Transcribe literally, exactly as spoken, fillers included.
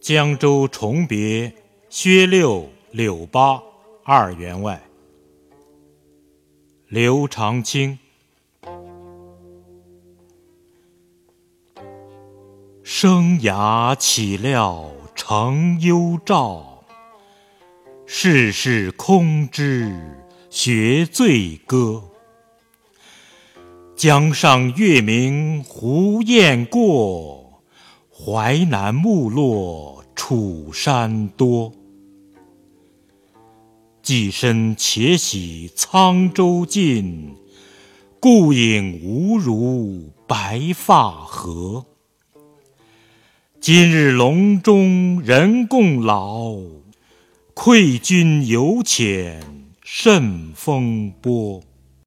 江州重别，薛六、柳八二员外。刘长卿。生涯岂料成幽照，世事空知学醉歌。江上月明湖雁过，淮南木落楚山多。寄身且喜沧州近，故影无如白发何。今日笼中人共老，愧君犹遣甚风波。